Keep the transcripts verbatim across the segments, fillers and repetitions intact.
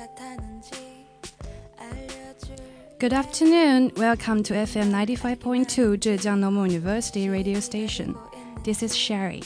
Good afternoon. Welcome to F M ninety-five point two Zhejiang Normal University radio station. This is Sherry.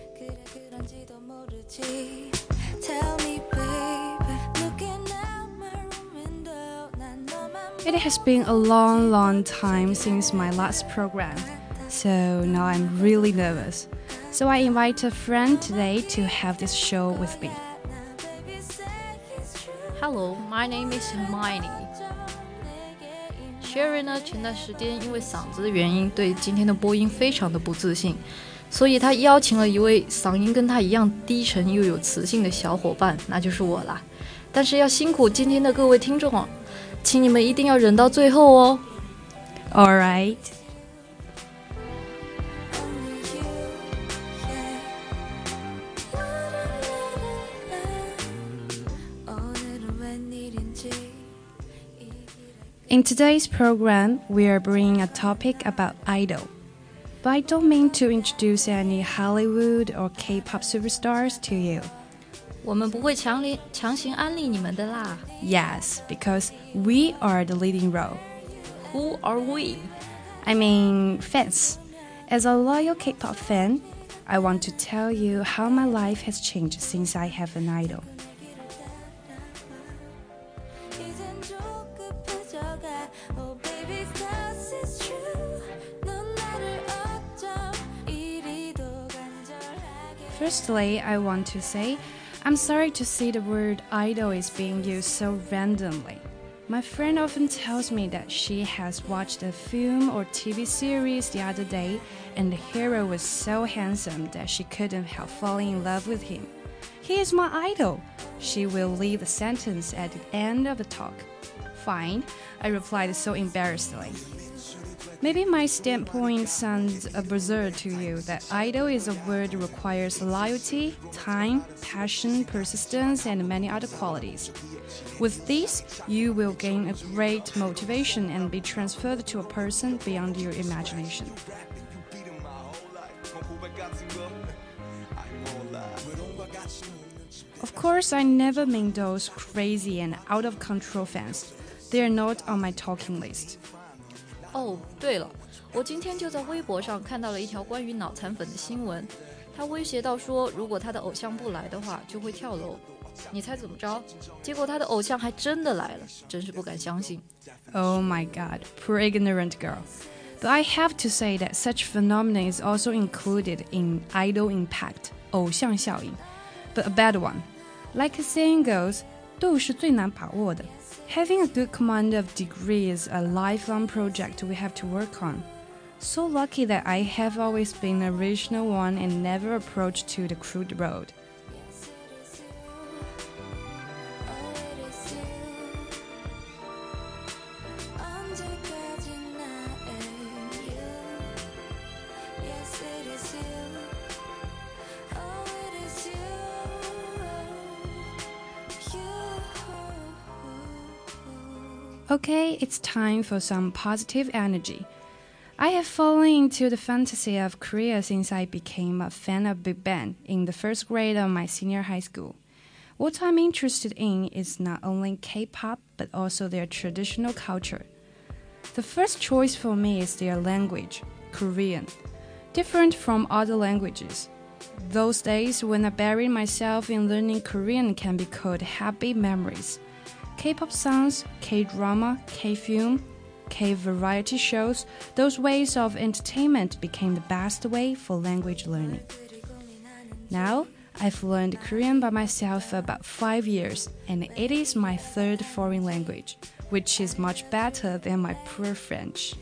It has been a long, long time since my last program, so now I'm really nervous. So I invite a friend today to have this show with me. Hello, my name is Hermione.Sherry 呢，前段时间因为嗓子的原因，对今天的播音非常的不自信，所以他邀请了一位嗓音跟他一样低沉又有磁性的小伙伴，那就是我啦。但是要辛苦今天的各位听众哦，请你们一定要忍到最后哦。 All right.In today's program, we are bringing a topic about idol. But I don't mean to introduce any Hollywood or K-pop superstars to you. 我们不会强烈强行安利你们的啦。 Yes, because we are the leading role. Who are we? I mean, fans. As a loyal K-pop fan, I want to tell you how my life has changed since I have an idol.Firstly, I want to say, I'm sorry to see the word idol is being used so randomly. My friend often tells me that she has watched a film or T V series the other day, and the hero was so handsome that she couldn't help falling in love with him. He is my idol. She will leave the sentence at the end of the talk. Fine, I replied so embarrassedly.Maybe my standpoint sounds absurd to you that idol is a word that requires loyalty, time, passion, persistence, and many other qualities. With these, you will gain a great motivation and be transferred to a person beyond your imagination. Of course, I never mean those crazy and out-of-control fans. They are not on my talking list. 哦，对了，我今天就在微博上看到了一条关于脑残粉的新闻，他威胁到说，如果他的偶像不来的话，就会跳楼。你猜怎么着？结果他的偶像还真的来了，真是不敢相信。 Oh my God, poor ignorant girl. But I have to say that such phenomena is also included in idol impact, 偶像效应, but a bad one. Like a saying goes, 度是最难把握的。Having a good command of degree is a lifelong project we have to work on. So lucky that I have always been the original one and never approached to the crude road. Okay, it's time for some positive energy. I have fallen into the fantasy of Korea since I became a fan of Big Bang in the first grade of my senior high school. What I'm interested in is not only K-pop, but also their traditional culture. The first choice for me is their language, Korean, different from other languages. Those days when I buried myself in learning Korean can be called happy memories.K-pop songs, K-drama, K-film, K-variety shows, those ways of entertainment became the best way for language learning. Now, I've learned Korean by myself for about five years, and it is my third foreign language, which is much better than my poor French.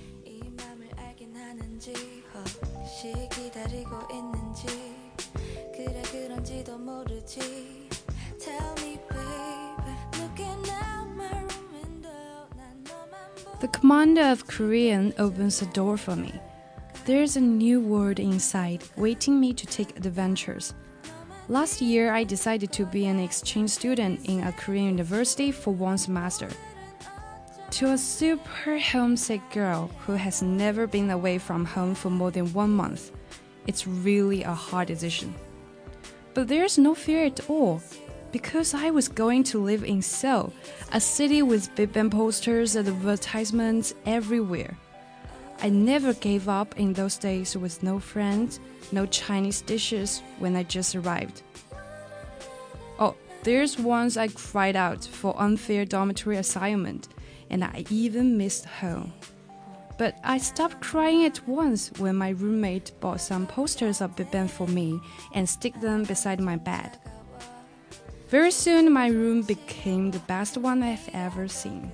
The commander of Korean opens the door for me. There's a new world inside, waiting me to take adventures. Last year, I decided to be an exchange student in a Korean university for one semester. To a super homesick girl who has never been away from home for more than one month, it's really a hard decision. But there's no fear at all. because I was going to live in Seoul, a city with Big Bang posters and advertisements everywhere. I never gave up in those days with no friends, no Chinese dishes when I just arrived. Oh, there's once I cried out for unfair dormitory assignment, and I even missed home. But I stopped crying at once when my roommate bought some posters of Big Bang for me and stick them beside my bed. Very soon, my room became the best one I've ever seen.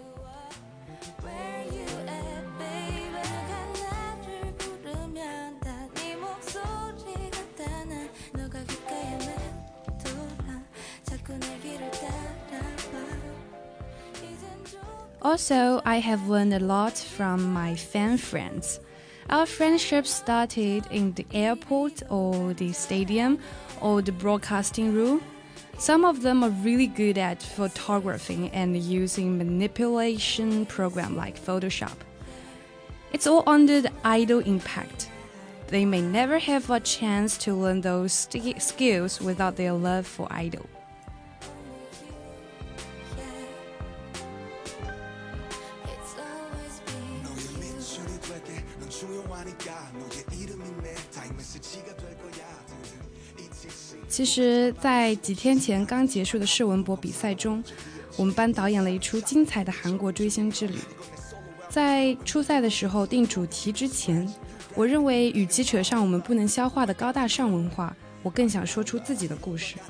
Also, I have learned a lot from my fan friends. Our friendship started in the airport or the stadium or the broadcasting room. Some of them are really good at photographing and using manipulation program like Photoshop. It's all under the idol impact. They may never have a chance to learn those skills without their love for idol. 이름이 내 타임 메시지가 될 거야. 其实在几天前刚结束的世文博比赛中，我们班导演了一出精彩的韩国追星之旅。在初赛的时候定主题之前，我认为与其扯上我们不能消化的高大上文化，我更想说出自己的故事。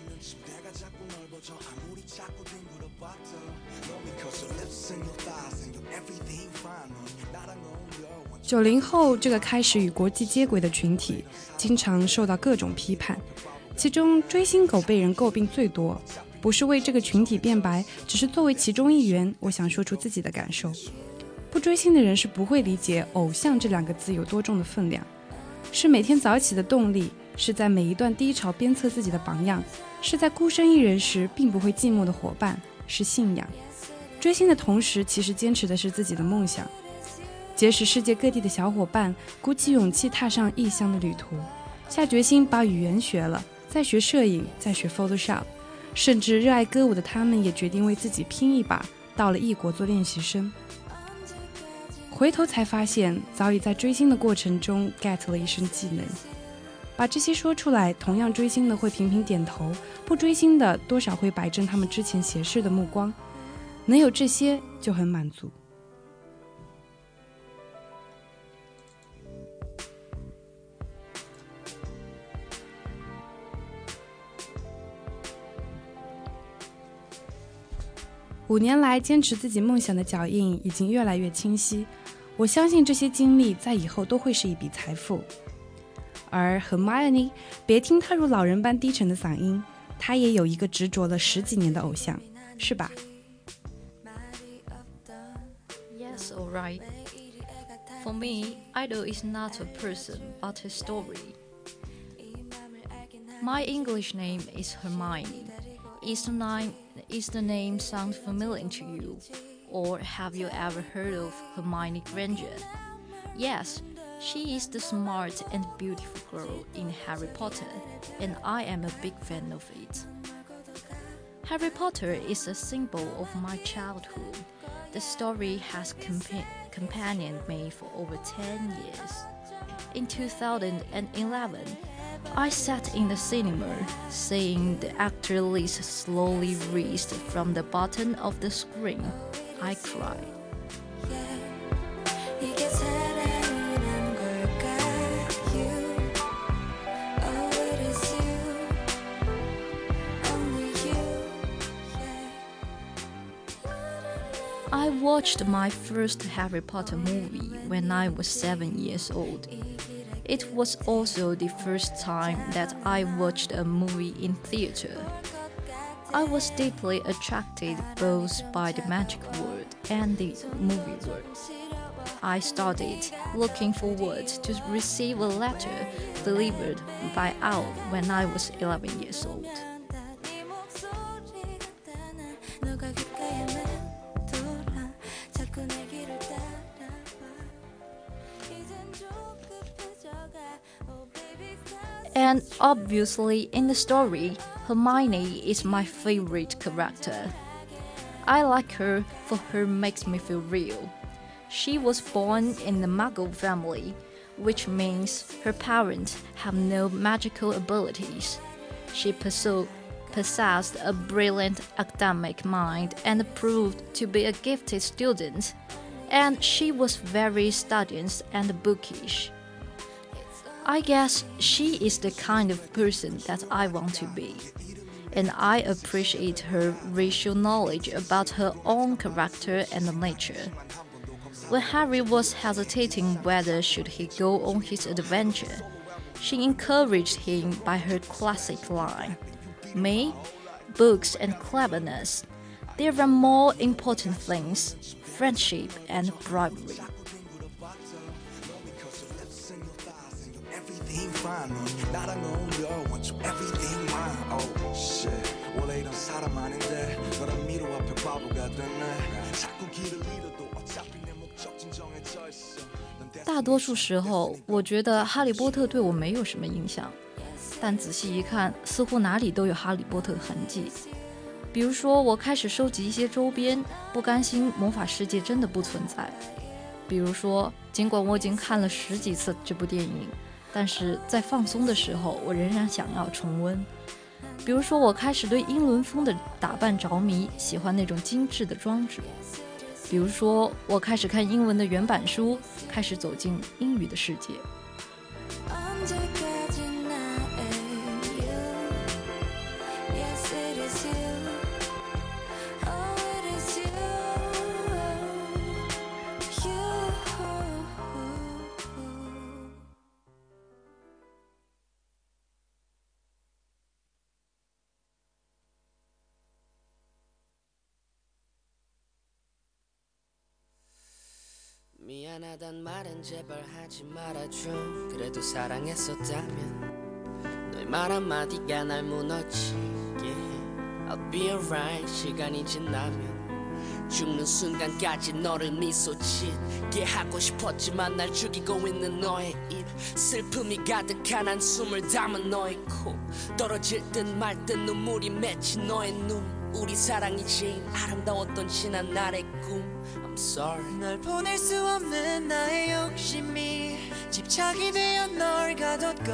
九零后这个开始与国际接轨的群体，经常受到各种批判，其中追星狗被人诟病最多。不是为这个群体辩白，只是作为其中一员，我想说出自己的感受。不追星的人是不会理解偶像这两个字有多重的分量，是每天早起的动力，是在每一段低潮鞭策自己的榜样，是在孤身一人时并不会寂寞的伙伴，是信仰。追星的同时，其实坚持的是自己的梦想。结识世界各地的小伙伴，鼓起勇气踏上异乡的旅途，下决心把语言学了，再学摄影，再学 Photoshop， 甚至热爱歌舞的他们也决定为自己拼一把，到了异国做练习生。回头才发现，早已在追星的过程中 get 了一身技能。把这些说出来，同样追星的会频频点头，不追星的多少会摆正他们之前斜视的目光，能有这些就很满足。五年来坚持自己梦想的脚印已经越来越清晰，我相信这些经历在以后都会是一笔财富。而 Hermione， 别听她如老人般低沉的嗓音，她也有一个执着了十几年的偶像，是吧？ Yes, all right. For me, idol is not a person, but a story. My English name is Hermione. Is the name, is the name sound familiar to you? Or have you ever heard of Hermione Granger? Yes, she is the smart and beautiful girl in Harry Potter, and I am a big fan of it. Harry Potter is a symbol of my childhood. The story has compa- companioned me for over ten years. In two thousand eleven, I sat in the cinema, seeing the actor list slowly raised from the bottom of the screen. I cried. I watched my first Harry Potter movie when I was seven years old. It was also the first time that I watched a movie in theater. I was deeply attracted both by the magic world and the movie world. I started looking forward to receive a letter delivered by Owl when I was eleven years old. And obviously, in the story, Hermione is my favorite character. I like her for her makes me feel real. She was born in the Muggle family, which means her parents have no magical abilities. She pursued, possessed a brilliant academic mind and proved to be a gifted student. And she was very studious and bookish. I guess she is the kind of person that I want to be. And I appreciate her racial knowledge about her own character and nature. When Harry was hesitating whether should he go on his adventure, she encouraged him by her classic line, "Me, books and cleverness. There are more important things, friendship and bribery." Everything fine, 나랑 어울려, want you everything mine. Oh shit, 원래 이런 사람 아닌데 너랑 미로 앞에 바보가 됐네. 자꾸 길을 잃어도 어차피 내 목적진 정해져 있어. 大多数时候，我觉得哈利波特对我没有什么影响，但仔细一看，似乎哪里都有哈利波特的痕迹。比如说，我开始收集一些周边，不甘心魔法世界真的不存在。比如说，尽管我已经看了十几次这部电影，但是在放松的时候，我仍然想要重温。比如说，我开始对英伦风的打扮着迷，喜欢那种精致的装置。比如说，我开始看英文的原版书，开始走进英语的世界。 미안하단 말은 제발 하지 말아줘. 그래도 사랑했었다면 너의 말 한마디가 날 무너지게 해. I'll be alright. 시간이 지나면 죽는 순간까지 너를 미소 짓게 하고 싶었지만 날 죽이고 있는 너의 입, 슬픔이 가득한 한숨을 담은 너의 코, 떨어질 듯 말 듯 눈물이 맺힌 너의 눈, 우리 사랑이 제일 아름다웠던 지난 날의 꿈. I'm sorry. 널 보낼 수 없는 나의 욕심이 집착이 되어 널 가뒀고,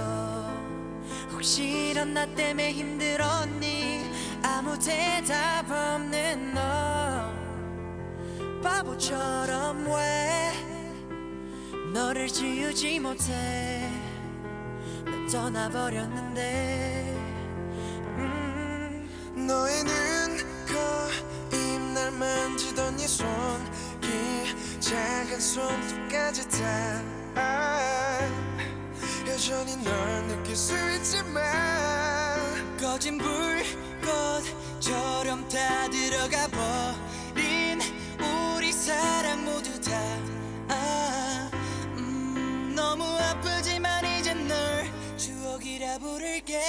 혹시 이런 나 때문에 힘들었니? 아무 대답 없는 너, 바보처럼 왜 너를 지우지 못해. 넌 떠나버렸는데. 음. 너의 눈, 코, 입, 날 만지던 네 손길, 작은 손톱까지 다 아, 여전히 널 느낄 수 있지만 꺼진 불꽃처럼 다 들어가 버린 우리 사랑 모두 다 아, 음, 너무 아프지만 이제 널 추억이라 부를게.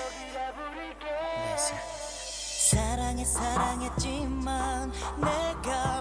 사랑해 사랑했지만 내가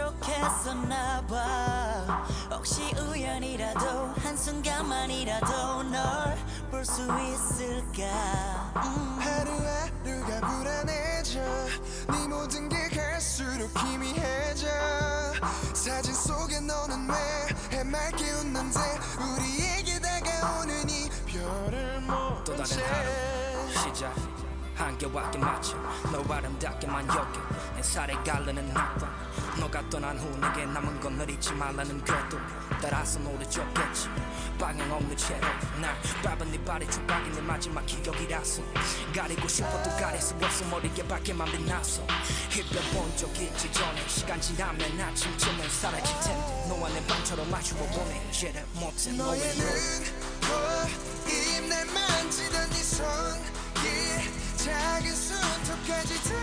부족했었나봐. 혹시 우연이라도 한순간만이라도 널 볼 수 있을까. 음. 하루하루가 불안해져. 네 모든 게 갈수록 희미해져. 사진 속에 너는 왜 해맑게 웃는데 우리에게 다가오는 이 별을 못 또 본 다른 채 하루 시작. 한겨울밖에 맞춰 너 아름답게만 여겨. 내 살에 가르는 낙방. 너가 떠난 후 내게 남은 건 널 잊지 말라는 궤도 따라서 노래졌겠지. 방향 없는 채로 날 밟은 네 발의 조각이 내 마지막 기억이라서 가리고 싶어도 가릴 수 없어. 머리에 밝게만 빛나서 힙변본 적 있지 전에. 시간 지나면 아침쯤엔 사라질 텐데 너와 내 밤처럼 마주보 보내. 이제를 못해 너의 눈, 코, 입, 날 만지던 네 손길, 작은 손톱까지 다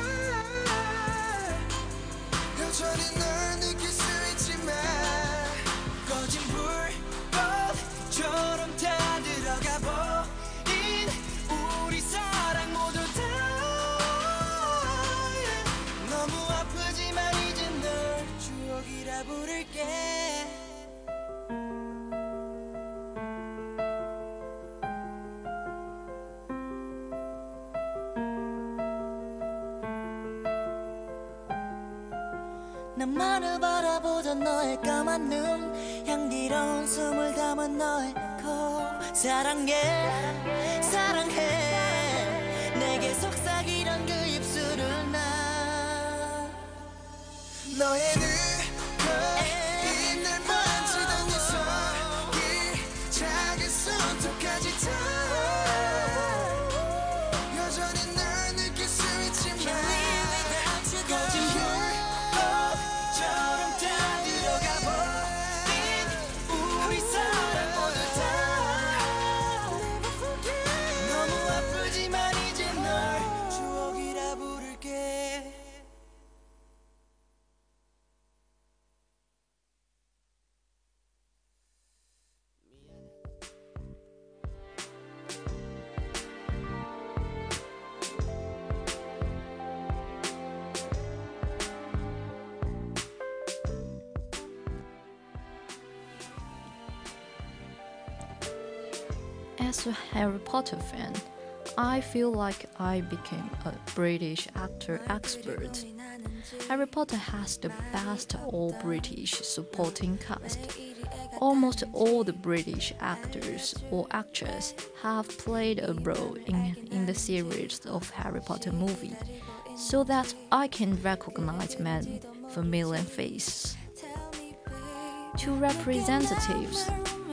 여전히 널 느낄 수 있지만 꺼진 불꽃처럼 다 들어가 버린 우리 사랑 모두 다 너무 아프지만 이제 널 추억이라 부를게. 나만을 바라보던 너의 까만 눈 향기로운 숨을 담은 너의 코 사랑해 사랑해 내게 속삭이던 그 입술을 나 너의 눈에 날 만지던 네 손이 작은 손톱까지 다 여전히 널 느낄 수 있지만 거짓말 처럼 다 들어가 버린 우리 사랑 모두 다 너무 아프지만 이제 널 추억이라 부를게 As a Harry Potter fan, I feel like I became a British actor expert. Harry Potter has the best all-British supporting cast. Almost all the British actors or actresses have played a role in, in the series of Harry Potter movie, so that I can recognize many familiar faces. Two representatives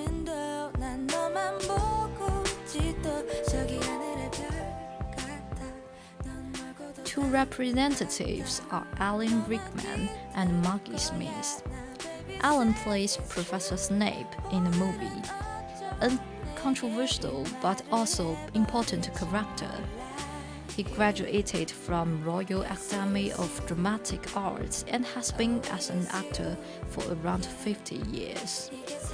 Two representatives are Alan Rickman and Maggie Smith. Alan plays Professor Snape in the movie, a controversial but also important character. He graduated from Royal Academy of Dramatic Arts and has been as an actor for around fifty years.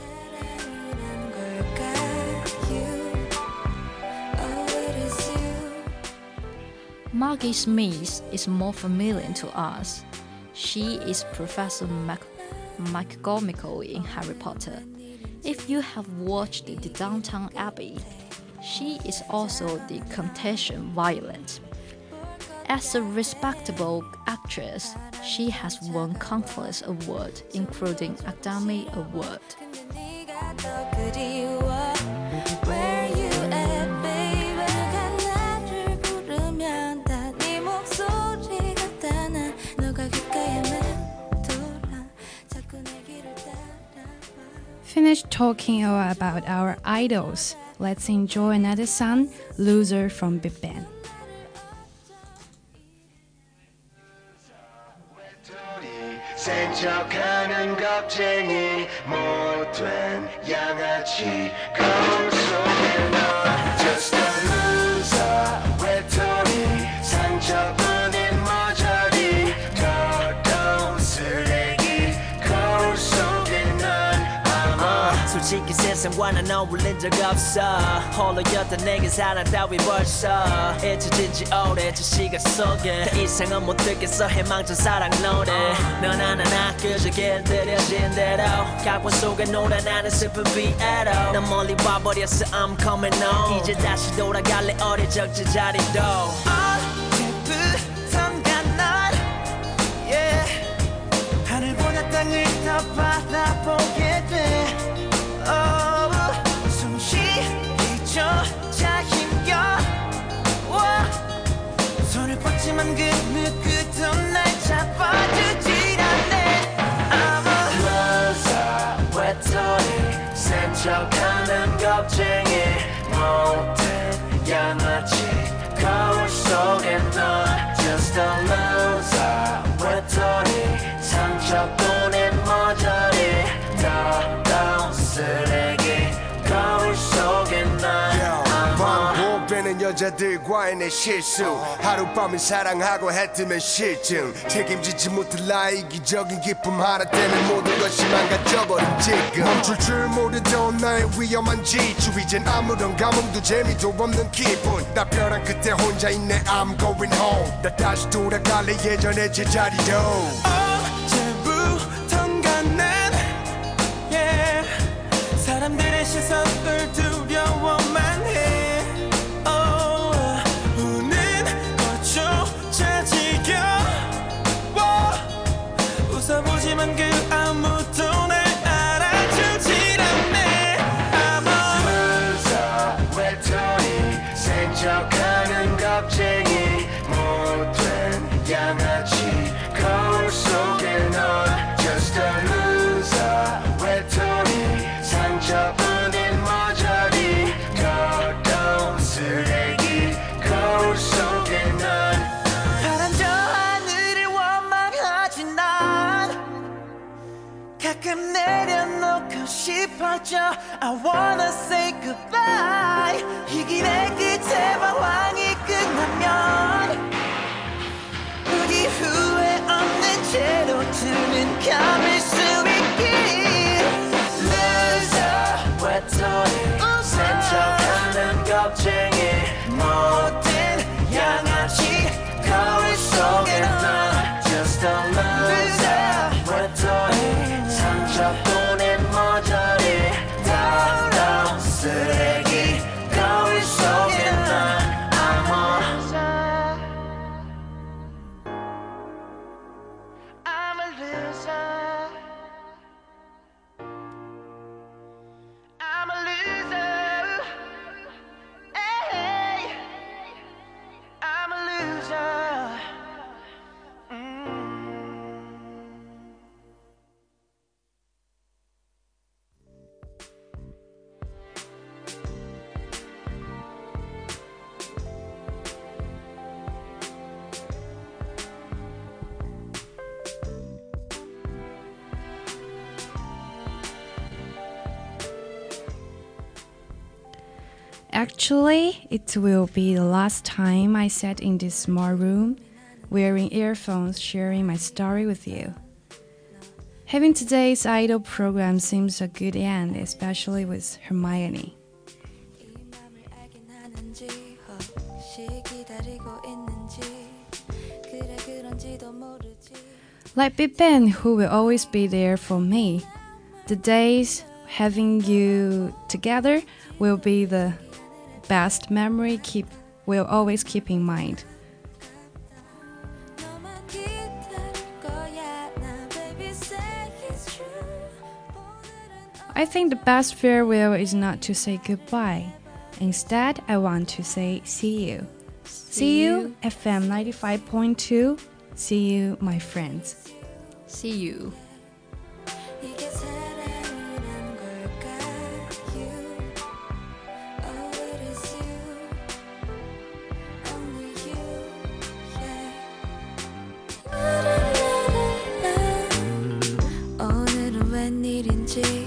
Maggie Smith is more familiar to us. She is Professor Mac McGonagall in Harry Potter. If you have watched the Downton Abbey, she is also the Countess Violet. As a respectable actress, she has won countless awards, including Academy Award. Finished talking about our idols. Let's enjoy another song, Loser from Big Bang. 센척하는 겁쟁이 못된 양아치 거울 속에 너 Just a loser 외톨이 상처뿐인 머저리 더러운 쓰레기 거울 속에 넌 솔직히 세상과 난 어울린 적 없어 홀로였던 내게 사랑 따위 벌써 잊혀진 지 오래 저 시간 속에 더 이상은 못 듣겠어 해망전 사랑 노래 넌 하나나 그저 길들여진 대로 각본 속에 놀아 나는 슬픈 비애로 난 멀리 와버렸어 I'm coming home 이제 다시 돌아갈래 어릴 적 제자리도 언제부턴가 널 yeah. 하늘보다 땅을 더 바라보게 돼 Oh, 숨쉬기조차 힘겨워 손을 뻗지만 그 누구도 날 잡아주질 않네 I'm a loser 외톨이 센척하는 겁쟁이 못된 양아치 거울 속에 넌 Just a loser 외톨이 상처뿐인 머저리 더러운 쓰레기 거울 속에 난 반복되는 여자들과의 내 실수 하룻밤을 사랑하고 해뜨면 실증 책임지지 못할 나의 이기적인 기쁨 하나 때문에 모든 것이 망가져버린 지금 멈출 줄 모르던 나의 위험한 지주 이젠 아무런 감흥도 재미도 없는 기분 나 벼랑 끝에 혼자 있네 I'm going home 나 다시 돌아갈래 예전의 제자리로 언제부턴가 난 yeah. 사람들의 시선을 두려워만 해 oh, 우는 것조차 지겨워 웃어보 하지만 그 아무도 날 알아주질 않네. I'm a loser 외톨이 생적하는 겁쟁이 못된 양아치 거울 속에 넌 just a loser 외톨이 상처뿐인 머저리 더러운 쓰레기 거울 속에 넌 파란 저 하늘을 원망하지 난 가끔 내려놓고 싶어져 I wanna say goodbye 이 길의 끝에 방황이 끝나면 우리 후회 없는 채로 두는 감을 수 있길 Loser 외톨이 센척하는 겁쟁이 못된 양아치 거울 속에 넌 Just a loser 외톨이 상처뿐인 머저리 더러운 쓰레기 거울 속에 넌 I'm a loser I'm a loser I'm a loser hey I'm a loser mm. Actually, it will be the last time I sat in this small room, wearing earphones, sharing my story with you. Having today's idol program seems a good end, especially with Hermione. Like Big Ben, who will always be there for me. The days having you together will be the best memory keep will always keep in mind. I think the best farewell is not to say goodbye. Instead, I want to say see you. See you, F M ninety-five point two. See you, my friends. See you.